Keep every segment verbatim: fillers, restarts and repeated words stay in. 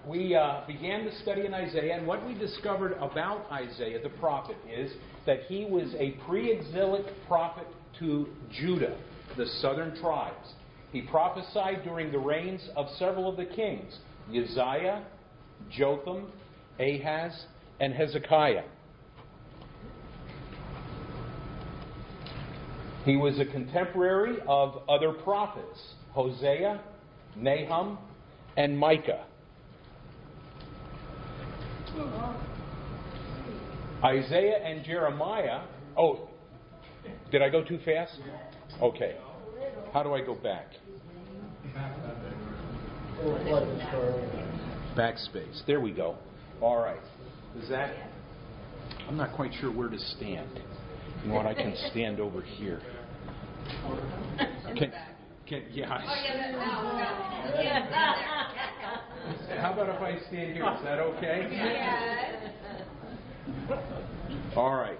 we uh, began to study in Isaiah, and what we discovered about Isaiah the prophet is that he was a pre-exilic prophet to Judah, the southern tribes. He prophesied during the reigns of several of the kings, Uzziah, Jotham, Ahaz, and Hezekiah. He was a contemporary of other prophets, Hosea, Nahum, and Micah. Isaiah and Jeremiah. Oh, did I go too fast? Okay. How do I go back? Backspace. There we go. All right. Is that? I'm not quite sure where to stand. You know what? I can stand over here. Can, can, yeah. How about if I stand here? Is that okay? Yes. All right.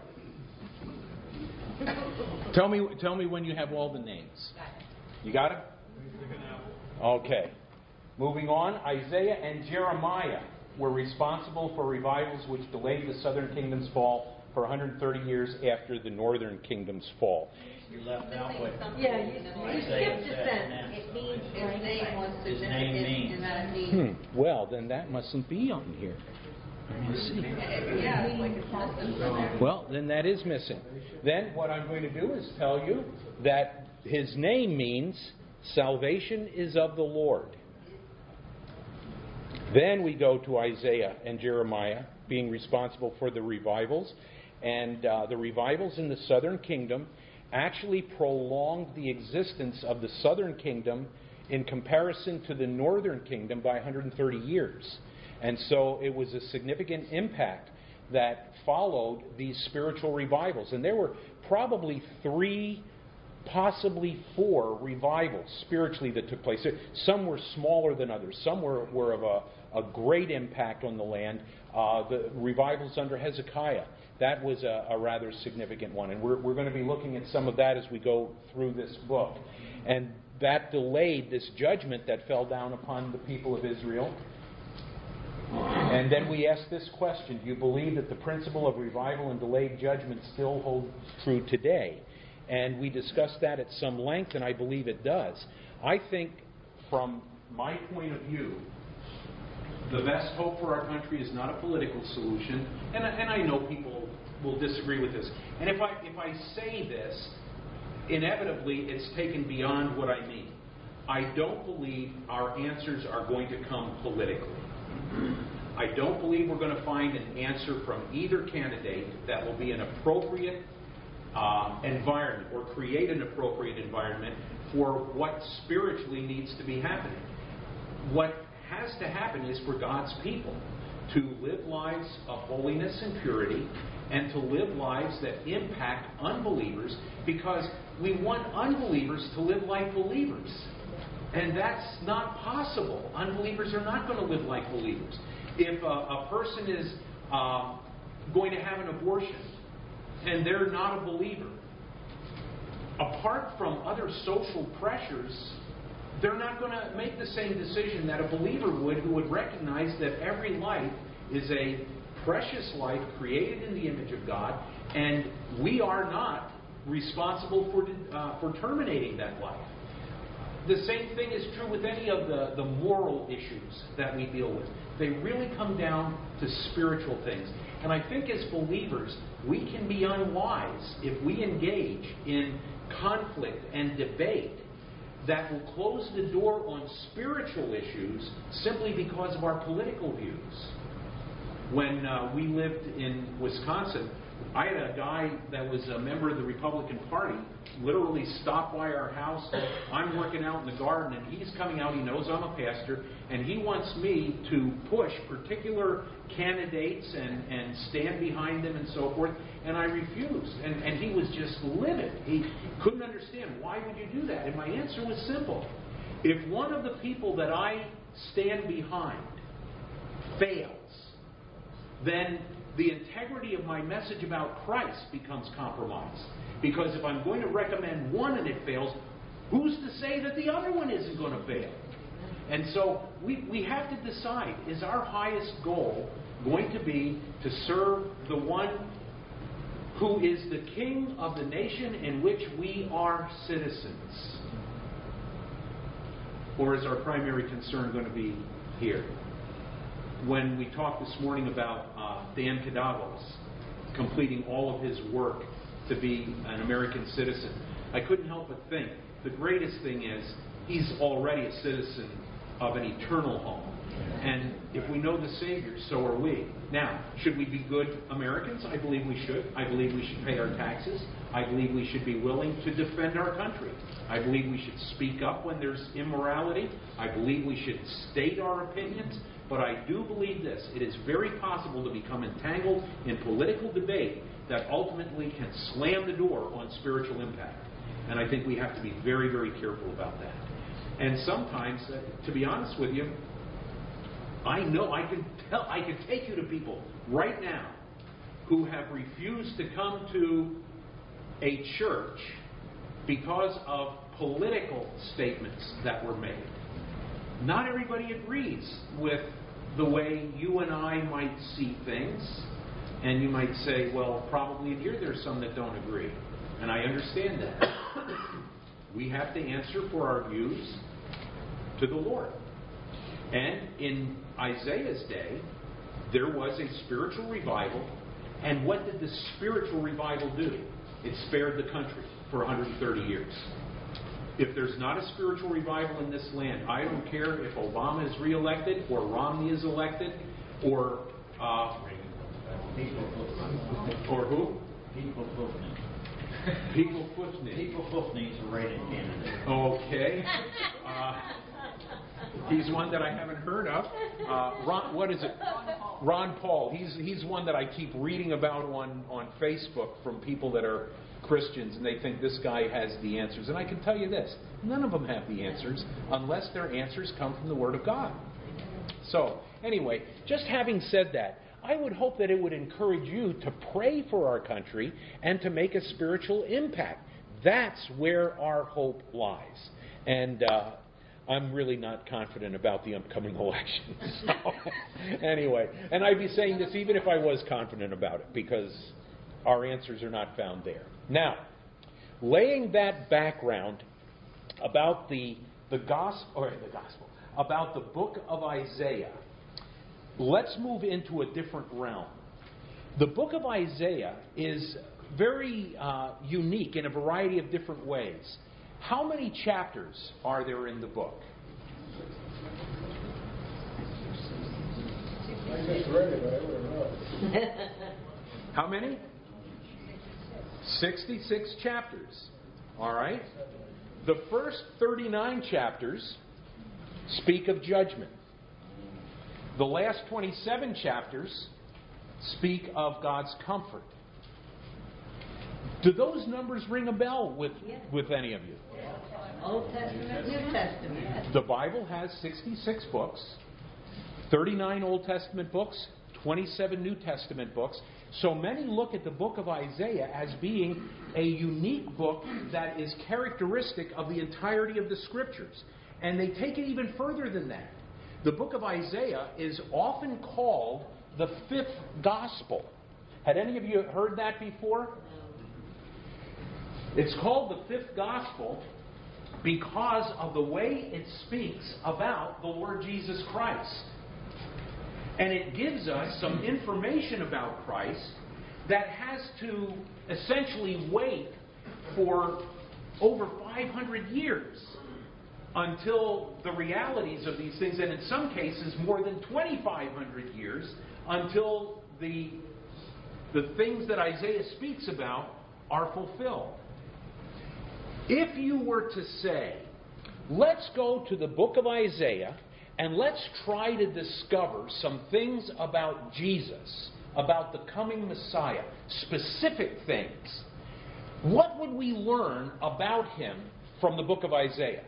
Tell me, tell me when you have all the names. You got it? Okay. Moving on, Isaiah and Jeremiah were responsible for revivals which delayed the southern kingdom's fall for one hundred thirty years after the northern kingdom's fall. You left out what yeah, you, you skipped a sentence. It means his name was significant in that it means. Hmm. Well, then that mustn't be on here. Let me see. Yeah, it's like it's missing. Well, then that is missing. Then what I'm going to do is tell you that his name means salvation is of the Lord. Then we go to Isaiah and Jeremiah being responsible for the revivals. And uh, the revivals in the southern kingdom actually prolonged the existence of the southern kingdom in comparison to the northern kingdom by one hundred thirty years. And so it was a significant impact that followed these spiritual revivals. And there were probably three, possibly four revivals spiritually that took place. Some were smaller than others. Some were, were of a, a great impact on the land. Uh, the revivals under Hezekiah, that was a, a rather significant one. And we're, we're going to be looking at some of that as we go through this book. And that delayed this judgment that fell down upon the people of Israel. And then we ask this question: do you believe that the principle of revival and delayed judgment still holds true today? And we discussed that at some length, and I believe it does. I think, from my point of view, the best hope for our country is not a political solution, and, and I know people will disagree with this. And if I if I say this, inevitably it's taken beyond what I mean. I don't believe our answers are going to come politically. I don't believe we're going to find an answer from either candidate that will be an appropriate uh, environment or create an appropriate environment for what spiritually needs to be happening. What has to happen is for God's people to live lives of holiness and purity and to live lives that impact unbelievers, because we want unbelievers to live like believers. And that's not possible. Unbelievers are not going to live like believers. If a, a person is uh, going to have an abortion and they're not a believer, apart from other social pressures, they're not going to make the same decision that a believer would, who would recognize that every life is a precious life created in the image of God, and we are not responsible for, uh, for terminating that life. The same thing is true with any of the, the moral issues that we deal with. They really come down to spiritual things. And I think as believers, we can be unwise if we engage in conflict and debate that will close the door on spiritual issues simply because of our political views. When uh, we lived in Wisconsin, I had a guy that was a member of the Republican Party literally stop by our house. I'm working out in the garden, and he's coming out. He knows I'm a pastor, and he wants me to push particular candidates and, and stand behind them and so forth. And I refused. And, and he was just livid. He couldn't understand, why would you do that? And my answer was simple. If one of the people that I stand behind fails, then the integrity of my message about Christ becomes compromised. Because if I'm going to recommend one and it fails, who's to say that the other one isn't going to fail? And so we, we have to decide, is our highest goal going to be to serve the one who is the king of the nation in which we are citizens? Or is our primary concern going to be here? When we talked this morning about uh, Dan Cadavos completing all of his work to be an American citizen, I couldn't help but think the greatest thing is he's already a citizen of an eternal home. And if we know the Savior, so are we. Now, should we be good Americans? I believe we should. I believe we should pay our taxes. I believe we should be willing to defend our country. I believe we should speak up when there's immorality. I believe we should state our opinions. But I do believe this. It is very possible to become entangled in political debate that ultimately can slam the door on spiritual impact. And I think we have to be very, very careful about that. And sometimes, uh, to be honest with you, I know I can tell, I can take you to people right now who have refused to come to a church because of political statements that were made. Not everybody agrees with the way you and I might see things. And you might say, well, probably in here there's some that don't agree. And I understand that. We have to answer for our views to the Lord. And in Isaiah's day, there was a spiritual revival. And what did the spiritual revival do? It spared the country for one hundred thirty years. If there's not a spiritual revival in this land, I don't care if Obama is reelected or Romney is elected or uh, or who? People Foofney. People Foofney. People Foofney's a write-in candidate. Okay. Uh, he's one that I haven't heard of. Uh, Ron, what is it? Ron Paul. He's he's one that I keep reading about on, on Facebook from people that are Christians, and they think this guy has the answers. And I can tell you this, none of them have the answers unless their answers come from the Word of God. So, anyway, just having said that, I would hope that it would encourage you to pray for our country and to make a spiritual impact. That's where our hope lies. And uh, I'm really not confident about the upcoming election. So, anyway, and I'd be saying this even if I was confident about it, because our answers are not found there. Now, laying that background about the the gospel, or the gospel, about the book of Isaiah, let's move into a different realm. The book of Isaiah is very uh, unique in a variety of different ways. How many chapters are there in the book? I just read it, but I would have known. How many? sixty-six chapters. All right? The first thirty-nine chapters speak of judgment. The last twenty-seven chapters speak of God's comfort. Do those numbers ring a bell with, Yes. with any of you? Old Testament, New Testament. The Bible has sixty-six books, thirty-nine Old Testament books, twenty-seven New Testament books. So many look at the book of Isaiah as being a unique book that is characteristic of the entirety of the Scriptures. And they take it even further than that. The book of Isaiah is often called the fifth gospel. Had any of you heard that before? It's called the fifth gospel because of the way it speaks about the Lord Jesus Christ. And it gives us some information about Christ that has to essentially wait for over five hundred years until the realities of these things, and in some cases more than twenty-five hundred years, until the, the things that Isaiah speaks about are fulfilled. If you were to say, let's go to the book of Isaiah and let's try to discover some things about Jesus, about the coming Messiah, specific things, what would we learn about him from the book of Isaiah?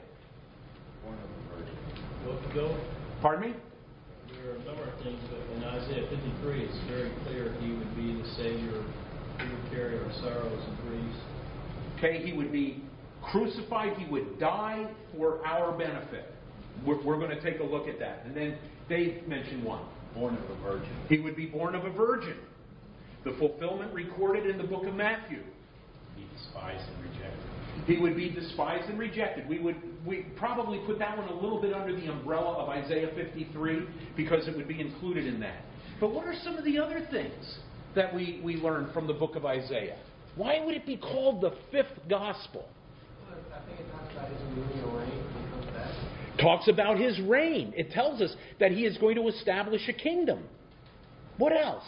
Go. Pardon me? There are a number of things, but in Isaiah fifty-three, it's very clear he would be the Savior. He would carry our sorrows and griefs. Okay, he would be crucified. He would die for our benefit. We're, we're going to take a look at that. And then Dave mentioned one. Born of a virgin. He would be born of a virgin. The fulfillment recorded in the book of Matthew. Be despised and rejected. He would be despised and rejected. We would we probably put that one a little bit under the umbrella of Isaiah fifty-three because it would be included in that. But what are some of the other things that we, we learn from the book of Isaiah? Why would it be called the fifth gospel? I think it talks about his millennial reign when he comes back. Talks about his reign. It tells us that he is going to establish a kingdom. What else?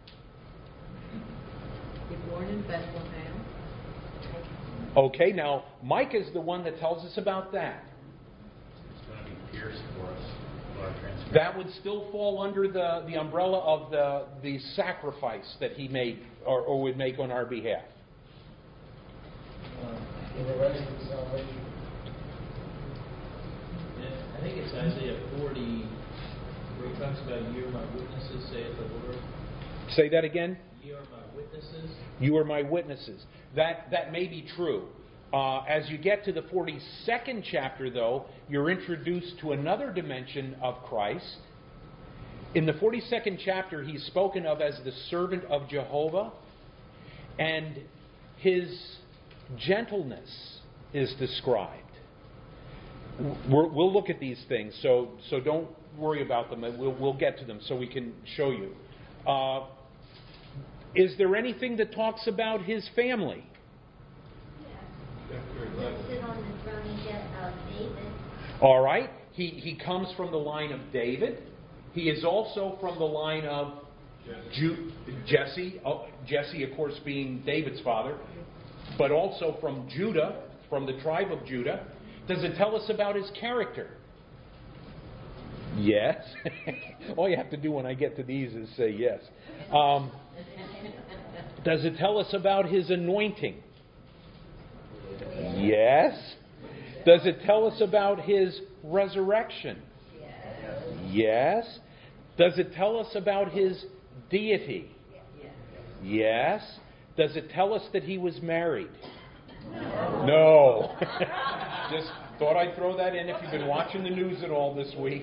You're born in Bethlehem. Okay, now Mike is the one that tells us about that. It's going to be pierced for us. For our transgressions. That would still fall under the, the umbrella of the, the sacrifice that he made or, or would make on our behalf. In relation to salvation. Yeah, I think it's Isaiah forty, where he talks about, "Ye are my witnesses, saith the Lord." Say that again. Ye are my witnesses. You are my witnesses. That that may be true. Uh, as you get to the forty-second chapter, though, you're introduced to another dimension of Christ. In the forty-second chapter, he's spoken of as the servant of Jehovah, and his gentleness is described. We're, we'll look at these things, so so don't worry about them. We'll, we'll get to them so we can show you. Uh, is there anything that talks about his family? Sit on the throne of David. All right. He, he comes from the line of David. He is also from the line of Ju- Jesse. Oh, Jesse, of course, being David's father. But also from Judah, from the tribe of Judah. Does it tell us about his character? Yes. All you have to do when I get to these is say yes. Um, does it tell us about his anointing? Yes. Does it tell us about his resurrection? Yes. Does it tell us about his deity? Yes. Does it tell us that he was married? No. Just thought I'd throw that in if you've been watching the news at all this week.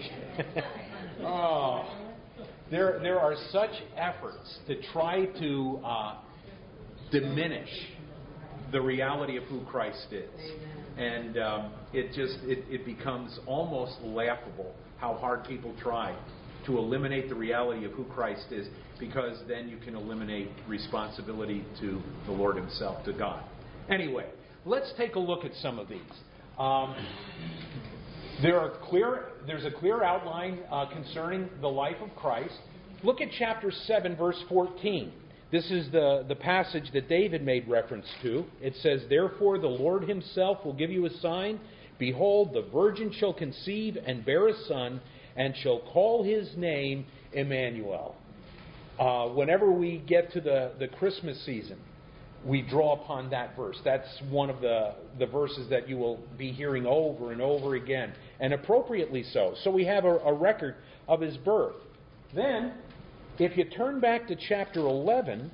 Oh. There, there are such efforts to try to uh, diminish the reality of who Christ is. And um, it just it, it becomes almost laughable how hard people try to eliminate the reality of who Christ is, because then you can eliminate responsibility to the Lord himself, to God. Anyway, let's take a look at some of these. Um, there are clear. There's a clear outline uh, concerning the life of Christ. Look at chapter seven, verse fourteen. This is the, the passage that David made reference to. It says, "Therefore the Lord himself will give you a sign. Behold, the virgin shall conceive and bear a son, and shall call his name Emmanuel." Uh, whenever we get to the, the Christmas season, we draw upon that verse. That's one of the, the verses that you will be hearing over and over again, and appropriately so. So we have a, a record of his birth. Then, if you turn back to chapter eleven,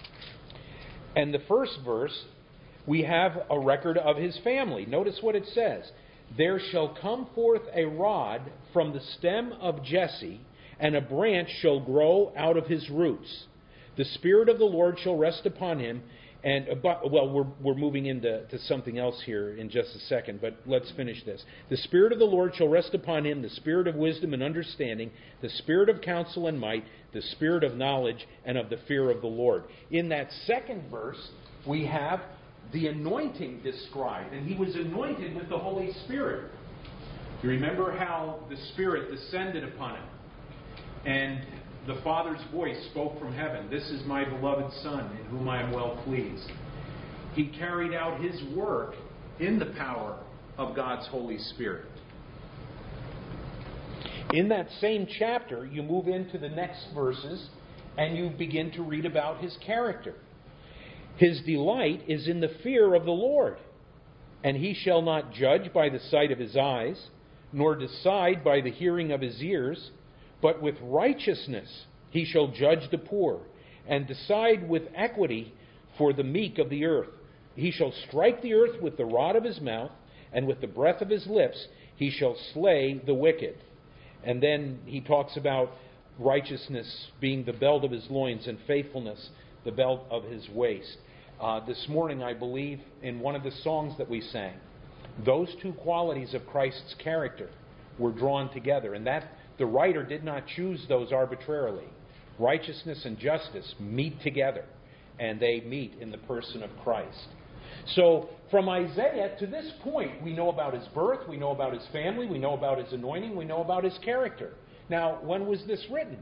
and the first verse, we have a record of his family. Notice what it says. "There shall come forth a rod from the stem of Jesse, and a branch shall grow out of his roots. The Spirit of the Lord shall rest upon him." And, well, we're, we're moving into to something else here in just a second, but let's finish this. "The Spirit of the Lord shall rest upon him, the Spirit of wisdom and understanding, the Spirit of counsel and might, the Spirit of knowledge and of the fear of the Lord." In that second verse, we have the anointing described, and he was anointed with the Holy Spirit. You remember how the Spirit descended upon him, and the Father's voice spoke from heaven, "This is my beloved Son, in whom I am well pleased." He carried out his work in the power of God's Holy Spirit. In that same chapter, you move into the next verses, and you begin to read about his character. "His delight is in the fear of the Lord, and he shall not judge by the sight of his eyes, nor decide by the hearing of his ears, but with righteousness he shall judge the poor, and decide with equity for the meek of the earth. He shall strike the earth with the rod of his mouth, and with the breath of his lips He shall slay the wicked. And then he talks about righteousness being the belt of his loins and faithfulness the belt of his waist. Uh, this morning, I believe, in one of the songs that we sang, those two qualities of Christ's character were drawn together, and that the writer did not choose those arbitrarily. Righteousness and justice meet together, and they meet in the person of Christ. So, from Isaiah to this point, we know about his birth, we know about his family, we know about his anointing, we know about his character. Now, when was this written?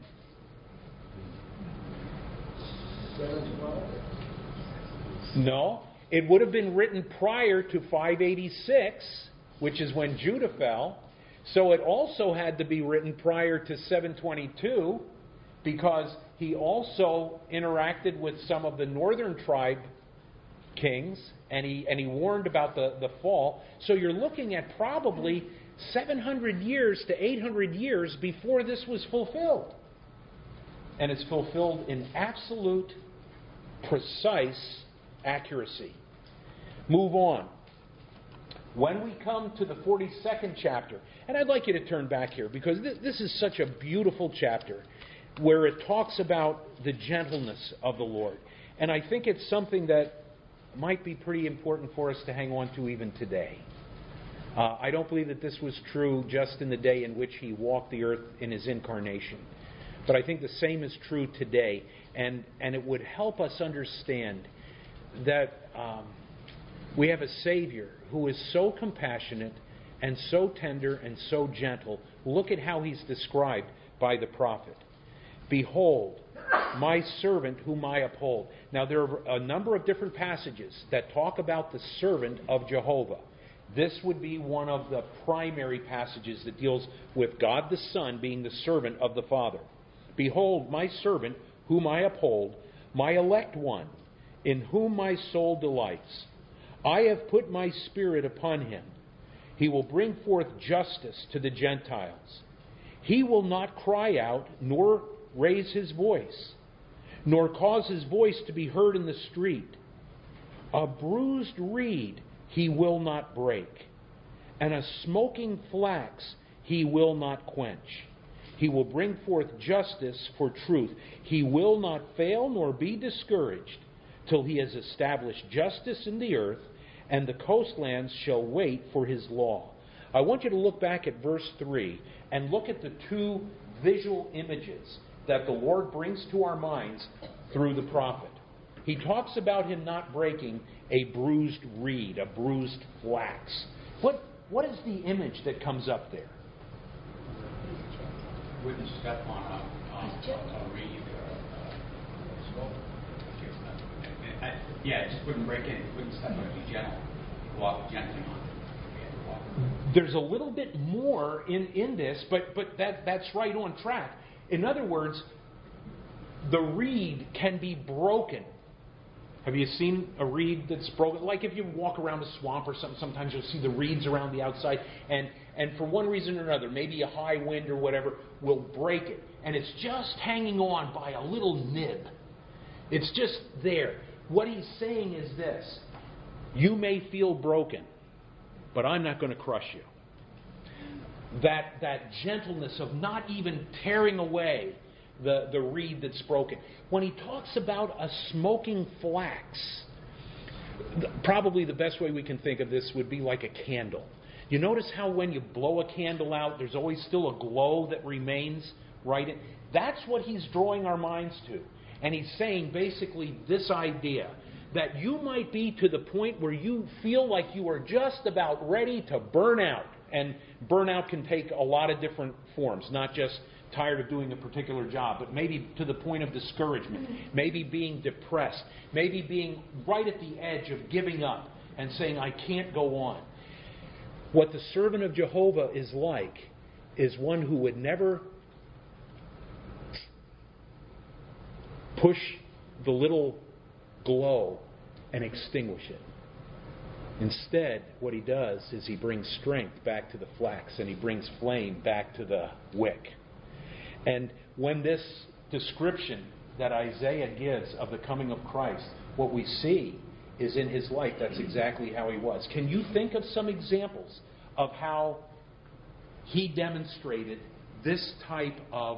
No, it would have been written prior to five eighty-six, which is when Judah fell. So it also had to be written prior to seven twenty-two, because he also interacted with some of the northern tribe kings, and he and he warned about the, the fall. So you're looking at probably seven hundred years to eight hundred years before this was fulfilled. And it's fulfilled in absolute, precise accuracy. Move on. When we come to the forty-second chapter, and I'd like you to turn back here, because this, this is such a beautiful chapter where it talks about the gentleness of the Lord. And I think it's something that might be pretty important for us to hang on to even today. Uh, I don't believe that this was true just in the day in which he walked the earth in his incarnation. But I think the same is true today. And, and it would help us understand that um, we have a Savior who is so compassionate and so tender and so gentle. Look at how he's described by the prophet. Behold, my servant whom I uphold. Now, there are a number of different passages that talk about the servant of Jehovah. This would be one of the primary passages that deals with God the Son being the servant of the Father. Behold, my servant whom I uphold, my elect one, in whom my soul delights. I have put my spirit upon him. He will bring forth justice to the Gentiles. He will not cry out, nor raise his voice, nor cause his voice to be heard in the street. A bruised reed he will not break, and a smoking flax he will not quench. He will bring forth justice for truth. He will not fail nor be discouraged till he has established justice in the earth, and the coastlands shall wait for his law. I want you to look back at verse three and look at the two visual images that the Lord brings to our minds through the prophet. He talks about him not breaking a bruised reed, a bruised flax. What, what is the image that comes up there? Wouldn't step on a, on a reed or a, a yeah, it just wouldn't break in. It wouldn't step on it. Be gentle. Walk gently on it. There's a little bit more in, in this, but, but that, that's right on track. In other words, the reed can be broken. Have you seen a reed that's broken? Like if you walk around a swamp or something, sometimes you'll see the reeds around the outside, and, and for one reason or another, maybe a high wind or whatever, will break it. And it's just hanging on by a little nib. It's just there. What he's saying is this: you may feel broken, but I'm not going to crush you. That, that gentleness of not even tearing away the, the reed that's broken. When he talks about a smoking flax, probably the best way we can think of this would be like a candle. You notice how when you blow a candle out, there's always still a glow that remains, right? That's what he's drawing our minds to. And he's saying basically this idea, that you might be to the point where you feel like you are just about ready to burn out. And burnout can take a lot of different forms, not just tired of doing a particular job, but maybe to the point of discouragement, maybe being depressed, maybe being right at the edge of giving up and saying, I can't go on. What the servant of Jehovah is like is one who would never push the little glow and extinguish it. Instead, what he does is he brings strength back to the flax, and he brings flame back to the wick. And when this description that Isaiah gives of the coming of Christ, what we see is in his life, that's exactly how he was. Can you think of some examples of how he demonstrated this type of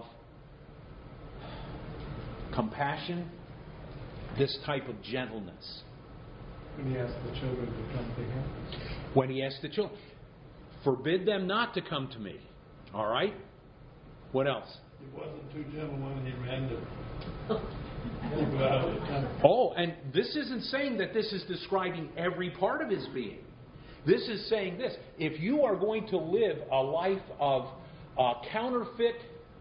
compassion, this type of gentleness. When he asked the children to come to him. When he asked the children, forbid them not to come to me. All right? What else? He wasn't too gentle when he ran to go out of the country. Oh, and this isn't saying that this is describing every part of his being. This is saying this. If you are going to live a life of uh, counterfeit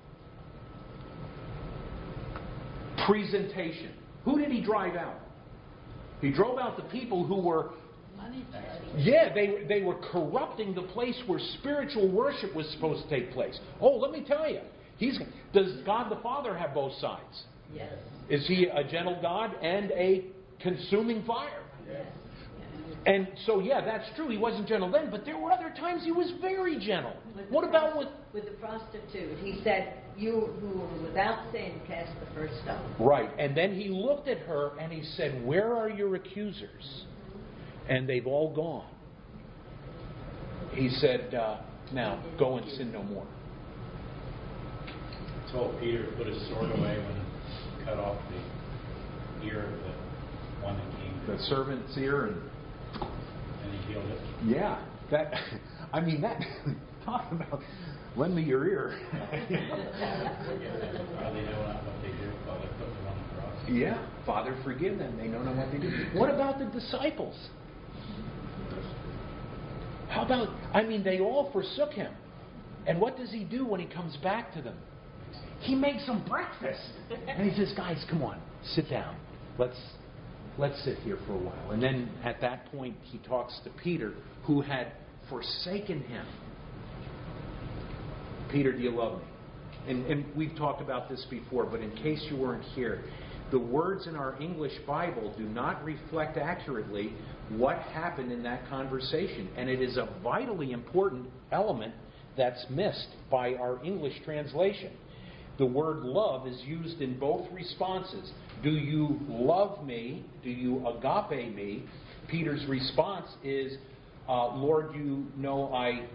presentation, who did he drive out? He drove out the people who were, yeah, they, they were corrupting the place where spiritual worship was supposed to take place. Oh, let me tell you, he's, does God the Father have both sides? Yes. Is he a gentle God and a consuming fire? Yes. And so, yeah, that's true. He wasn't gentle then, but there were other times he was very gentle. With What the about prost- with... with the prostitute? He said, "You who were without sin, cast the first stone." Right. And then he looked at her and he said, "Where are your accusers?" And they've all gone. He said, uh, "Now, go and sin no more." He told Peter to put his sword away when he cut off the ear of the one that came. The servant's ear and... And he healed it. Yeah. That, I mean, that... Talk about... Lend me your ear. Are they know not what they do while they put them on the cross? Yeah. Father, forgive them. They know not what they do. What about the disciples? How about... I mean, they all forsook him. And what does he do when he comes back to them? He makes them breakfast. And he says, "Guys, come on. Sit down. Let's... Let's sit here for a while." And then at that point, he talks to Peter, who had forsaken him. "Peter, do you love me?" And, and we've talked about this before, but in case you weren't here, the words in our English Bible do not reflect accurately what happened in that conversation. And it is a vitally important element that's missed by our English translation. The word love is used in both responses. Do you love me? Do you agape me? Peter's response is, uh, "Lord, you know I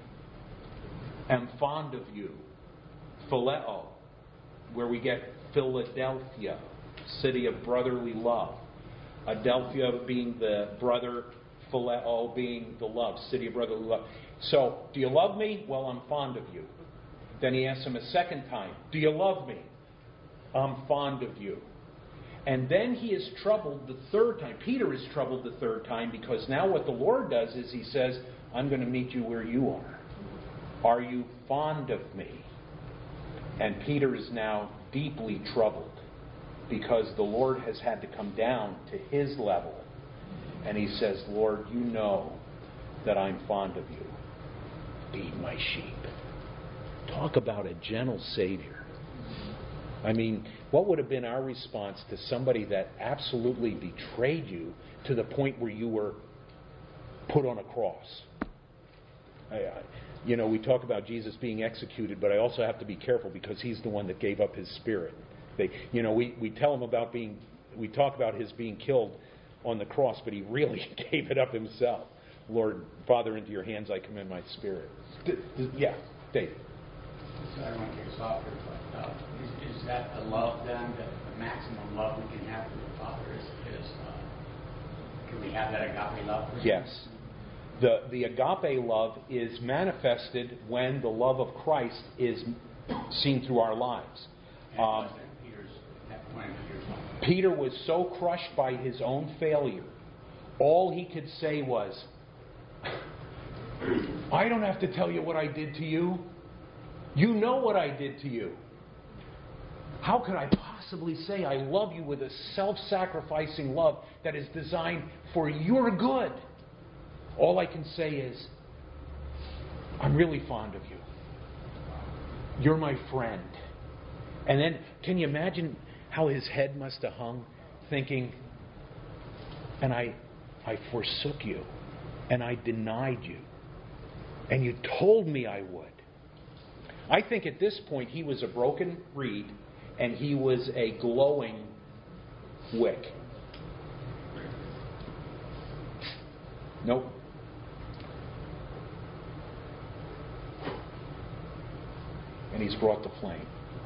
am fond of you." Phileo, where we get Philadelphia, city of brotherly love. Adelphia being the brother, Phileo being the love, city of brotherly love. So, do you love me? Well, I'm fond of you. Then he asks him a second time, "Do you love me?" "I'm fond of you." And then he is troubled the third time. Peter is troubled the third time because now what the Lord does is he says, "I'm going to meet you where you are. Are you fond of me?" And Peter is now deeply troubled because the Lord has had to come down to his level. And he says, "Lord, you know that I'm fond of you. Feed my sheep." Talk about a gentle Savior. I mean, what would have been our response to somebody that absolutely betrayed you to the point where you were put on a cross? I, I, you know, we talk about Jesus being executed, but I also have to be careful because he's the one that gave up his spirit. They, you know, we, we tell him about being, we talk about his being killed on the cross, but he really gave it up himself. "Lord, Father, into your hands I commend my spirit." D- d- yeah, Dave. So I don't want to get softer, but uh, is, is that the love then, that the maximum love we can have for the Father is, is uh, can we have that agape love for him? Yes. The, the agape love is manifested when the love of Christ is seen through our lives. Um, Peter's, that point, Peter's life. Peter was so crushed by his own failure, all he could say was, "I don't have to tell you what I did to you. You know what I did to you. How could I possibly say I love you with a self-sacrificing love that is designed for your good? All I can say is, I'm really fond of you. You're my friend." And then, can you imagine how his head must have hung, thinking, "And I, I forsook you, and I denied you, and you told me I would." I think at this point he was a broken reed and he was a glowing wick. Nope. and he's brought to flame.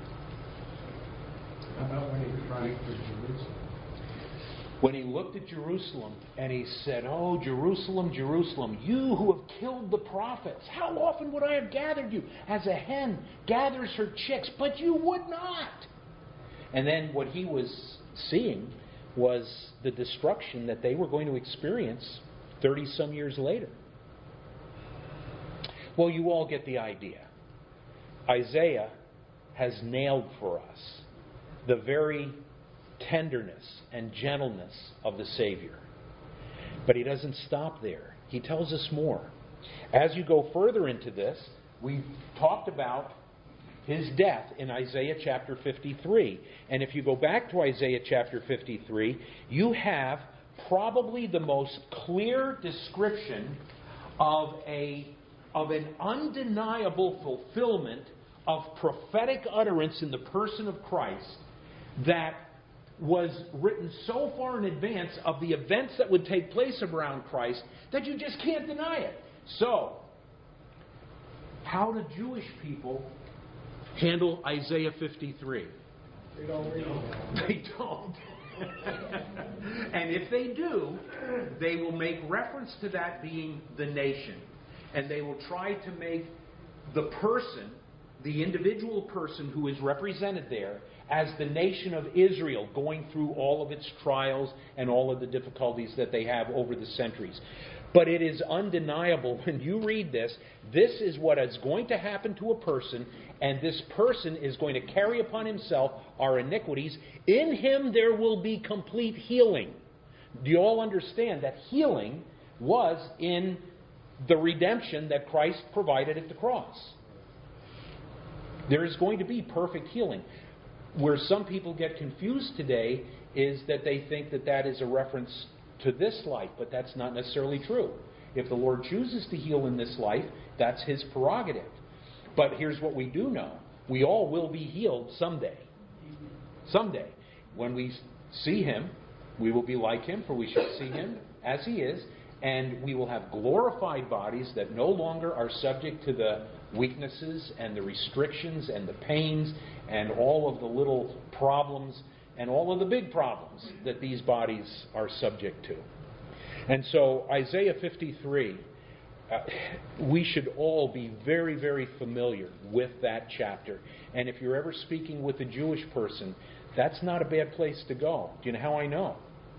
How about when he cried for Jerusalem? When he looked at Jerusalem and he said, "Oh, Jerusalem, Jerusalem, you who have killed the prophets, how often would I have gathered you as a hen gathers her chicks, but you would not." And then what he was seeing was the destruction that they were going to experience thirty-some years later. Well, you all get the idea. Isaiah has nailed for us the very tenderness and gentleness of the Savior. But he doesn't stop there. He tells us more. As you go further into this, we talked about his death in Isaiah chapter fifty-three. And if you go back to Isaiah chapter fifty-three, you have probably the most clear description of a of an undeniable fulfillment of prophetic utterance in the person of Christ that was written so far in advance of the events that would take place around Christ that you just can't deny it. So, how do Jewish people handle Isaiah fifty-three? They don't read it. They don't. And if they do, they will make reference to that being the nation. And they will try to make the person, the individual person who is represented there, as the nation of Israel going through all of its trials and all of the difficulties that they have over the centuries. But it is undeniable when you read this, this is what is going to happen to a person, and this person is going to carry upon himself our iniquities. In him there will be complete healing. Do you all understand that healing was in the redemption that Christ provided at the cross? There is going to be perfect healing. Where some people get confused today is that they think that that is a reference to this life, but that's not necessarily true. If the Lord chooses to heal in this life, that's His prerogative. But here's what we do know. We all will be healed someday. Someday. When we see Him, we will be like Him, for we shall see Him as He is, and we will have glorified bodies that no longer are subject to the weaknesses and the restrictions and the pains and all of the little problems and all of the big problems that these bodies are subject to. And so Isaiah fifty-three, uh, we should all be very, very familiar with that chapter. And if you're ever speaking with a Jewish person, that's not a bad place to go. Do you know how I know?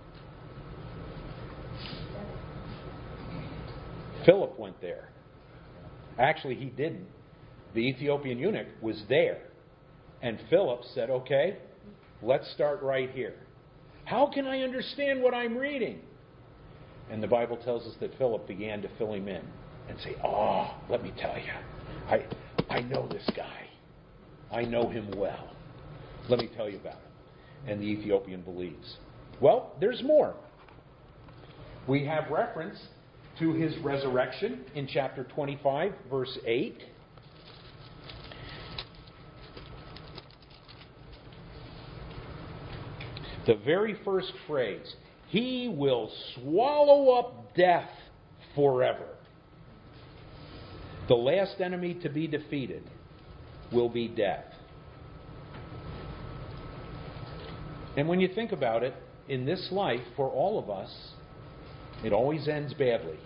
Philip went there. Actually, he didn't. The Ethiopian eunuch was there. And Philip said, okay, let's start right here. How can I understand what I'm reading? And the Bible tells us that Philip began to fill him in and say, oh, let me tell you, I, I know this guy. I know him well. Let me tell you about him. And the Ethiopian believes. Well, there's more. We have reference to his resurrection in chapter twenty-five, verse eight. The very first phrase, He will swallow up death forever. The last enemy to be defeated will be death. And when you think about it, in this life, for all of us, it always ends badly.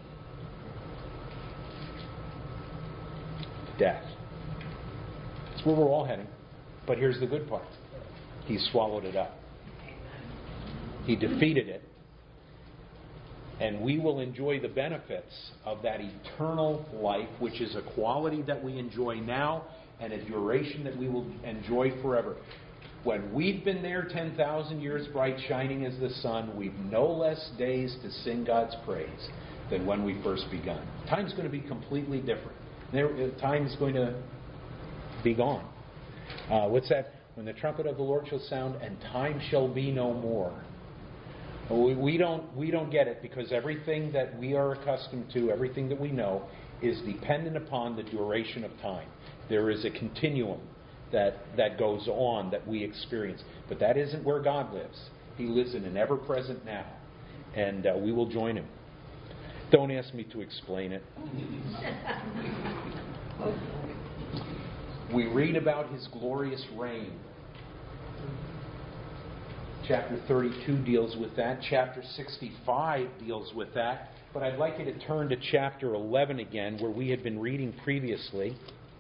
Death. That's where we're all heading. But here's the good part. He swallowed it up. He defeated it. And we will enjoy the benefits of that eternal life, which is a quality that we enjoy now and a duration that we will enjoy forever. When we've been there ten thousand years bright, shining as the sun, we've no less days to sing God's praise than when we first begun. Time's going to be completely different. There, time's going to be gone. Uh, what's that? When the trumpet of the Lord shall sound, and time shall be no more. We, we don't we don't get it, because everything that we are accustomed to, everything that we know, is dependent upon the duration of time. There is a continuum that, that goes on that we experience. But that isn't where God lives. He lives in an ever-present now. And uh, we will join Him. Don't ask me to explain it. We read about His glorious reign. Chapter thirty-two deals with that. Chapter sixty-five deals with that. But I'd like you to turn to chapter eleven again, where we had been reading previously.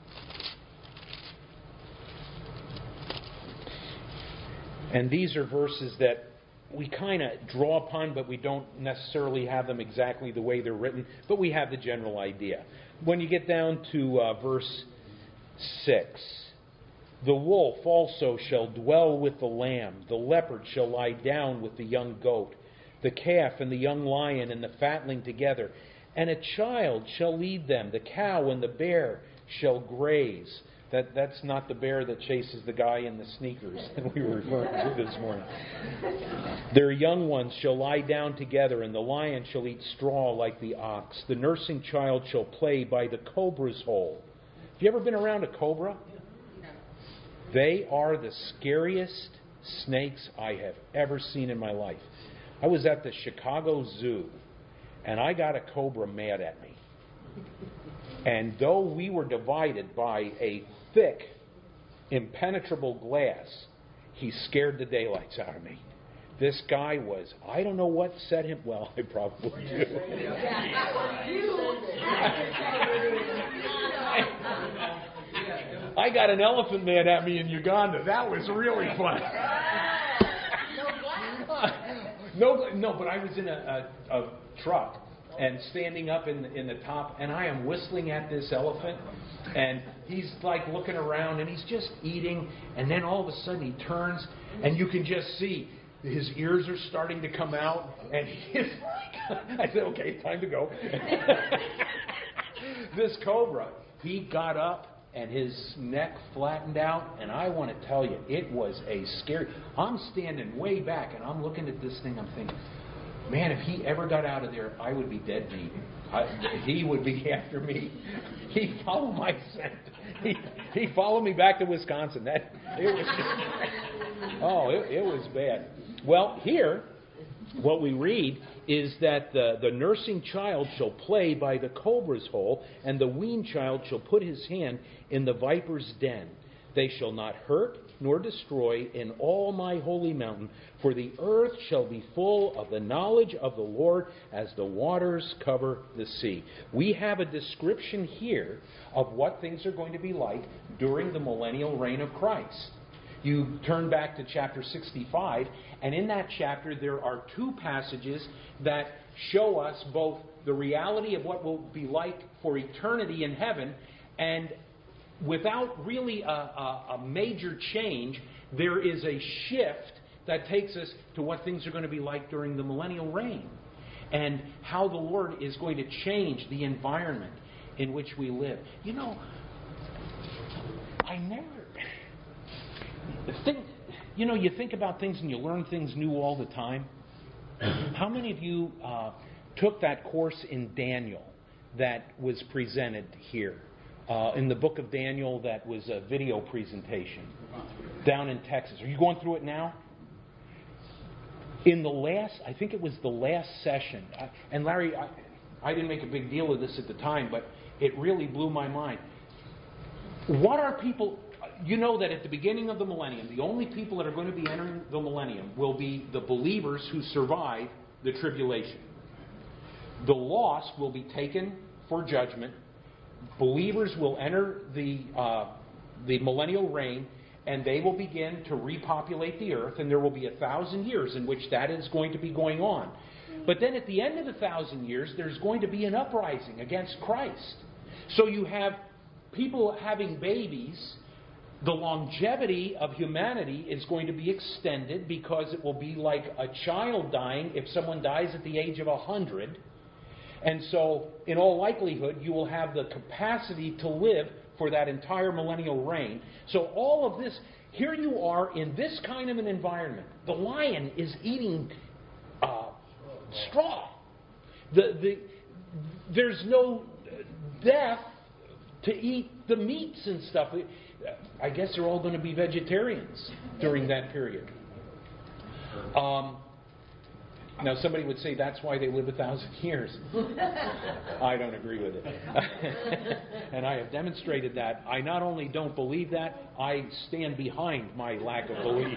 And these are verses that we kind of draw upon, but we don't necessarily have them exactly the way they're written. But we have the general idea. When you get down to uh, verse six, the wolf also shall dwell with the lamb, the leopard shall lie down with the young goat, the calf and the young lion and the fatling together, and a child shall lead them, the cow and the bear shall graze. That, that's not the bear that chases the guy in the sneakers that we were referring to this morning. Their young ones shall lie down together, and the lion shall eat straw like the ox. The nursing child shall play by the cobra's hole. Have you ever been around a cobra? They are the scariest snakes I have ever seen in my life. I was at the Chicago Zoo, and I got a cobra mad at me. And though we were divided by a thick, impenetrable glass, he scared the daylights out of me. This guy was, I don't know what set him, well, I probably do. I got an elephant man at me in Uganda. That was really fun. no, no, but I was in a, a, a truck and standing up in the, in the top, and I am whistling at this elephant, and he's like looking around, and he's just eating, and then all of a sudden he turns, and you can just see his ears are starting to come out, and he's like, I said, okay, time to go. This cobra, he got up, and his neck flattened out, and I want to tell you, it was a scary, I'm standing way back, and I'm looking at this thing, I'm thinking, man, if he ever got out of there, I would be dead meat. I, he would be after me. He followed my scent. He, he followed me back to Wisconsin. That it was. Oh, it, it was bad. Well, here, what we read is that the, the nursing child shall play by the cobra's hole, and the weaned child shall put his hand in the viper's den. They shall not hurt nor destroy in all my holy mountain, for the earth shall be full of the knowledge of the Lord as the waters cover the sea. We have a description here of what things are going to be like during the millennial reign of Christ. You turn back to chapter sixty-five, and in that chapter there are two passages that show us both the reality of what will be like for eternity in heaven, and without really a, a, a major change, there is a shift that takes us to what things are going to be like during the millennial reign, and how the Lord is going to change the environment in which we live. You know, I never... Think, you know, you think about things and you learn things new all the time. How many of you uh, took that course in Daniel that was presented here? Uh, in the book of Daniel, that was a video presentation down in Texas. Are you going through it now? In the last, I think it was the last session, I, and Larry, I, I didn't make a big deal of this at the time, but it really blew my mind. What are people... You know that at the beginning of the millennium, the only people that are going to be entering the millennium will be the believers who survive the tribulation. The lost will be taken for judgment. Believers will enter the uh, the millennial reign, and they will begin to repopulate the earth, and there will be a thousand years in which that is going to be going on. But then at the end of the thousand years, there's going to be an uprising against Christ. So you have people having babies. The longevity of humanity is going to be extended because it will be like a child dying if someone dies at the age of a hundred. And so, in all likelihood, you will have the capacity to live for that entire millennial reign. So all of this, here you are in this kind of an environment. The lion is eating uh, straw. The, the, there's no death to eat the meats and stuff. I guess they're all going to be vegetarians during that period. Um, Now, somebody would say that's why they live a thousand years. I don't agree with it. And I have demonstrated that. I not only don't believe that, I stand behind my lack of belief.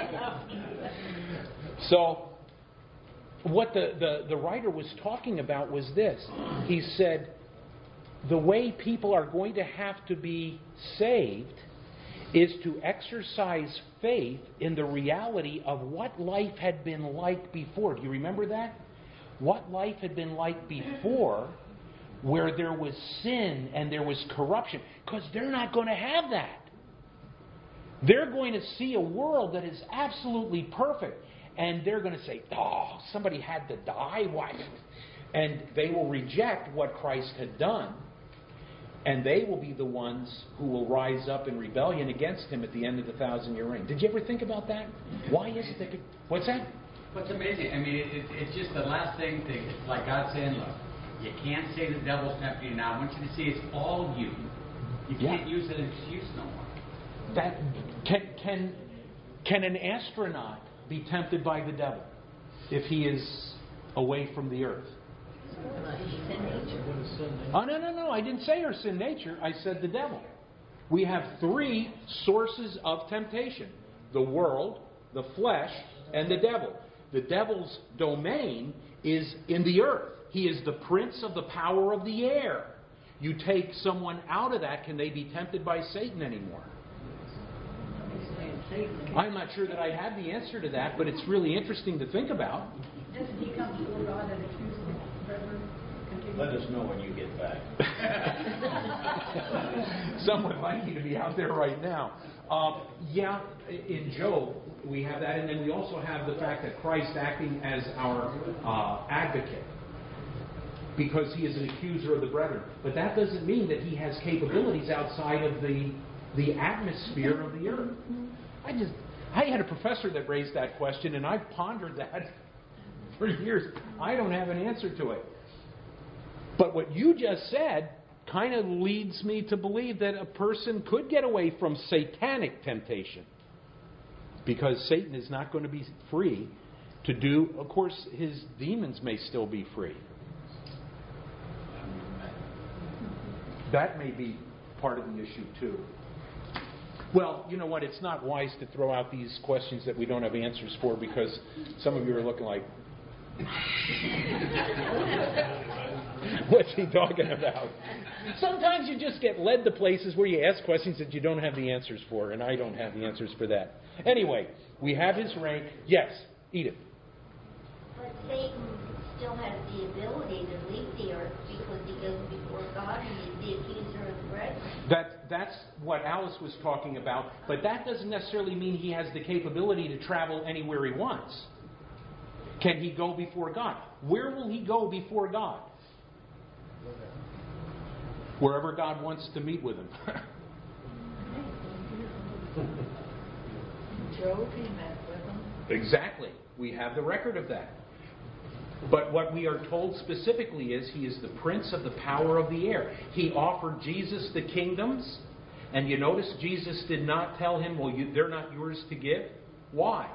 So, what the, the, the writer was talking about was this. He said, the way people are going to have to be saved is to exercise faith in the reality of what life had been like before. Do you remember that? What life had been like before, where there was sin and there was corruption. Because they're not going to have that. They're going to see a world that is absolutely perfect. And they're going to say, oh, somebody had to die? Why? And they will reject what Christ had done. And they will be the ones who will rise up in rebellion against Him at the end of the thousand-year reign. Did you ever think about that? Why is it that... What's that? What's amazing, I mean, it, it, it's just the last thing, thing. It's like God saying, look, you can't say the devil's tempting you now. I want you to see it's all you. You can't yeah. use it as an excuse no more. That, can, can, can an astronaut be tempted by the devil if he is away from the earth? Oh, no, no, no. I didn't say her sin nature. I said the devil. We have three sources of temptation. The world, the flesh, and the devil. The devil's domain is in the earth. He is the prince of the power of the air. You take someone out of that, can they be tempted by Satan anymore? I'm not sure that I have the answer to that, but it's really interesting to think about. Doesn't he come before God and accuse the brethren? Let us know when you get back. Some would like you to be out there right now. Um, yeah, in Job, we have that. And then we also have the fact that Christ acting as our uh, advocate, because He is an accuser of the brethren. But that doesn't mean that He has capabilities outside of the, the atmosphere of the earth. I just, I had a professor that raised that question, and I've pondered that for years. I don't have an answer to it. But what you just said kind of leads me to believe that a person could get away from satanic temptation, because Satan is not going to be free to do. Of course, his demons may still be free. That may be part of the issue too. Well, you know what? It's not wise to throw out these questions that we don't have answers for, because some of you are looking like, what's he talking about? Sometimes you just get led to places where you ask questions that you don't have the answers for, and I don't have the answers for that. Anyway, we have his reign. Yes, Edith. But Satan still has the ability to leave the earth because he goes before God and he's the accuser of the brethren. That, that's what Alice was talking about, but that doesn't necessarily mean he has the capability to travel anywhere he wants. Can he go before God? Where will he go before God? Wherever God wants to meet with him. Job, he met with him. Exactly. We have the record of that. But what we are told specifically is he is the prince of the power of the air. He offered Jesus the kingdoms. And you notice Jesus did not tell him, well, you, they're not yours to give. Why?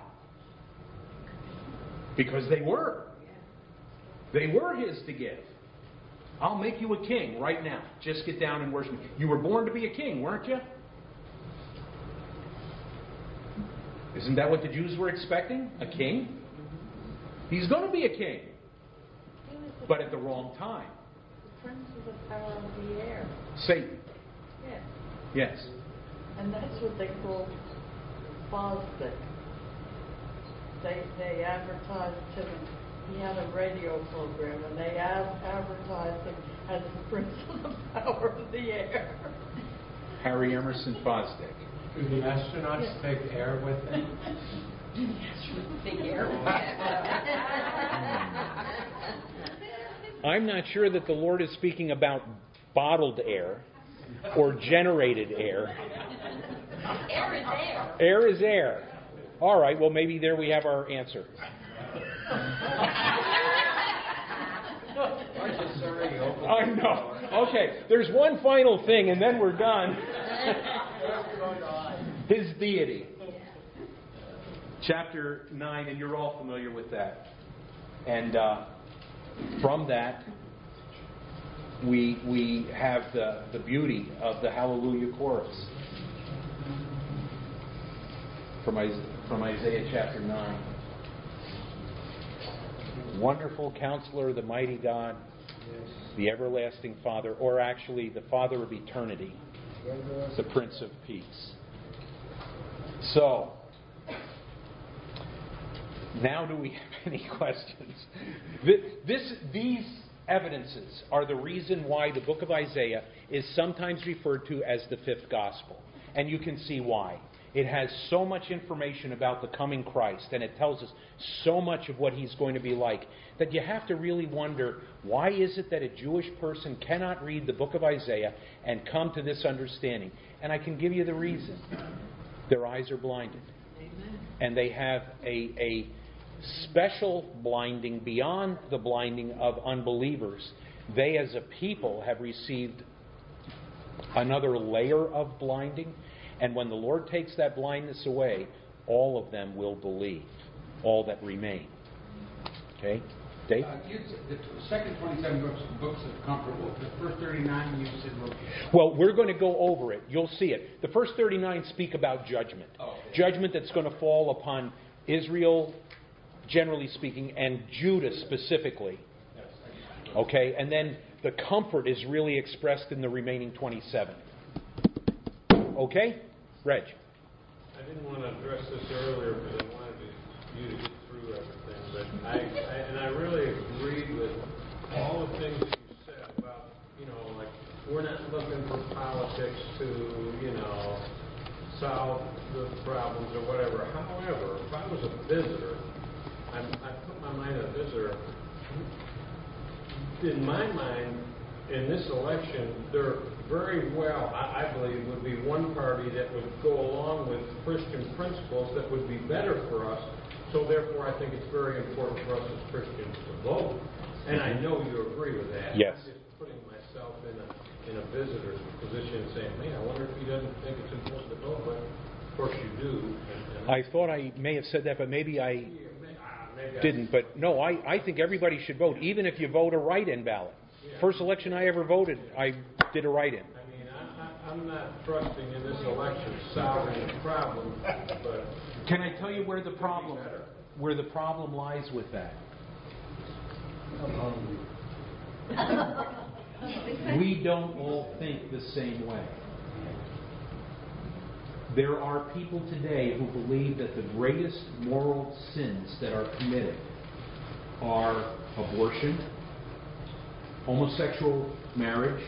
Because they were. They were his to give. I'll make you a king right now. Just get down and worship me. You were born to be a king, weren't you? Isn't that what the Jews were expecting? A king? He's going to be a king. But at the wrong time. The prince of the power of the air. Satan. Yes. Yes. And that's what they call Fosdick. They they advertised him. He had a radio program, and they ad- advertised him as the prince of the power of the air. Harry Emerson Fosdick. Do the astronauts yes. take air with them? Big air. I'm not sure that the Lord is speaking about bottled air or generated air. Air is air. Air is air. All right, well, maybe there we have our answer. I know. Okay, there's one final thing, and then we're done. His deity. Chapter nine, and you're all familiar with that. And uh, from that, we we have the, the beauty of the Hallelujah chorus from Isaiah, from Isaiah chapter nine. Wonderful Counselor, the Mighty God, the Everlasting Father, or actually the Father of Eternity, the Prince of Peace. So, now do we have any questions? This, these evidences are the reason why the book of Isaiah is sometimes referred to as the fifth gospel. And you can see why. It has so much information about the coming Christ, and it tells us so much of what He's going to be like, that you have to really wonder, why is it that a Jewish person cannot read the book of Isaiah and come to this understanding? And I can give you the reason. Their eyes are blinded. Amen. And they have a, a special blinding beyond the blinding of unbelievers. They as a people have received another layer of blinding. And when the Lord takes that blindness away, all of them will believe, all that remain. Okay? Dave? Uh, you, the second twenty-seven books, books of comfort, well, the first thirty-nine you said were... Well, we're going to go over it. You'll see it. The first thirty-nine speak about judgment. Oh, okay. Judgment that's going to fall upon Israel, generally speaking, and Judah specifically. Okay? And then the comfort is really expressed in the remaining twenty-seven. Okay? Reg. I didn't want to address this earlier because I wanted to, you to get through everything, but I, I and I really agreed with all the things that you said about, you know, like, we're not looking for politics to, you know, solve the problems or whatever. However, if I was a visitor, I'm, I put my mind on a visitor, in my mind, in this election, there very well, I, I believe, would be one party that would go along with Christian principles that would be better for us. So therefore, I think it's very important for us as Christians to vote. And I know you agree with that. Yes. I'm just putting myself in a in a visitor's position and saying, man, I wonder if he doesn't think it's important to vote, but of course you do. And, and I thought I may have said that, but maybe I yeah, may, uh, maybe didn't. I, but no, I, I think everybody should vote, even if you vote a write-in ballot. Yeah. First election I ever voted, I did a write-in. I mean, I, I, I'm not trusting in this election solving the problem, but... Can I tell you where the problem where the problem lies with that? We don't all think the same way. There are people today who believe that the greatest moral sins that are committed are abortion, homosexual marriage,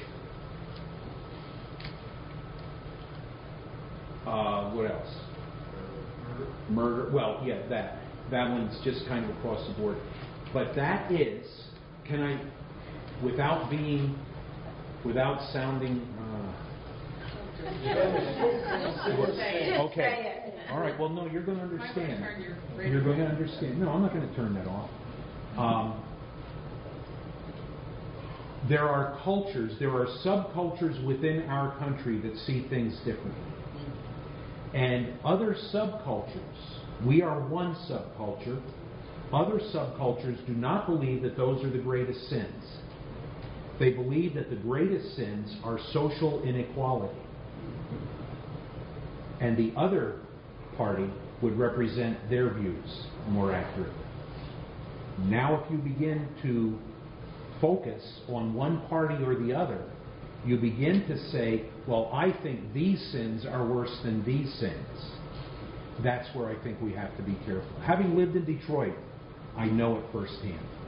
uh, what else? Murder. Well, yeah, that. That one's just kind of across the board. But that is, can I, without being, without sounding, uh, okay. All right, well, no, you're going to understand. You're going to understand. No, I'm not going to turn that off. Um, there are cultures, there are subcultures within our country that see things differently. And other subcultures, we are one subculture. Other subcultures do not believe that those are the greatest sins. They believe that the greatest sins are social inequality. And the other party would represent their views more accurately. Now if you begin to focus on one party or the other, you begin to say, well, I think these sins are worse than these sins. That's where I think we have to be careful. Having lived in Detroit, I know it firsthand.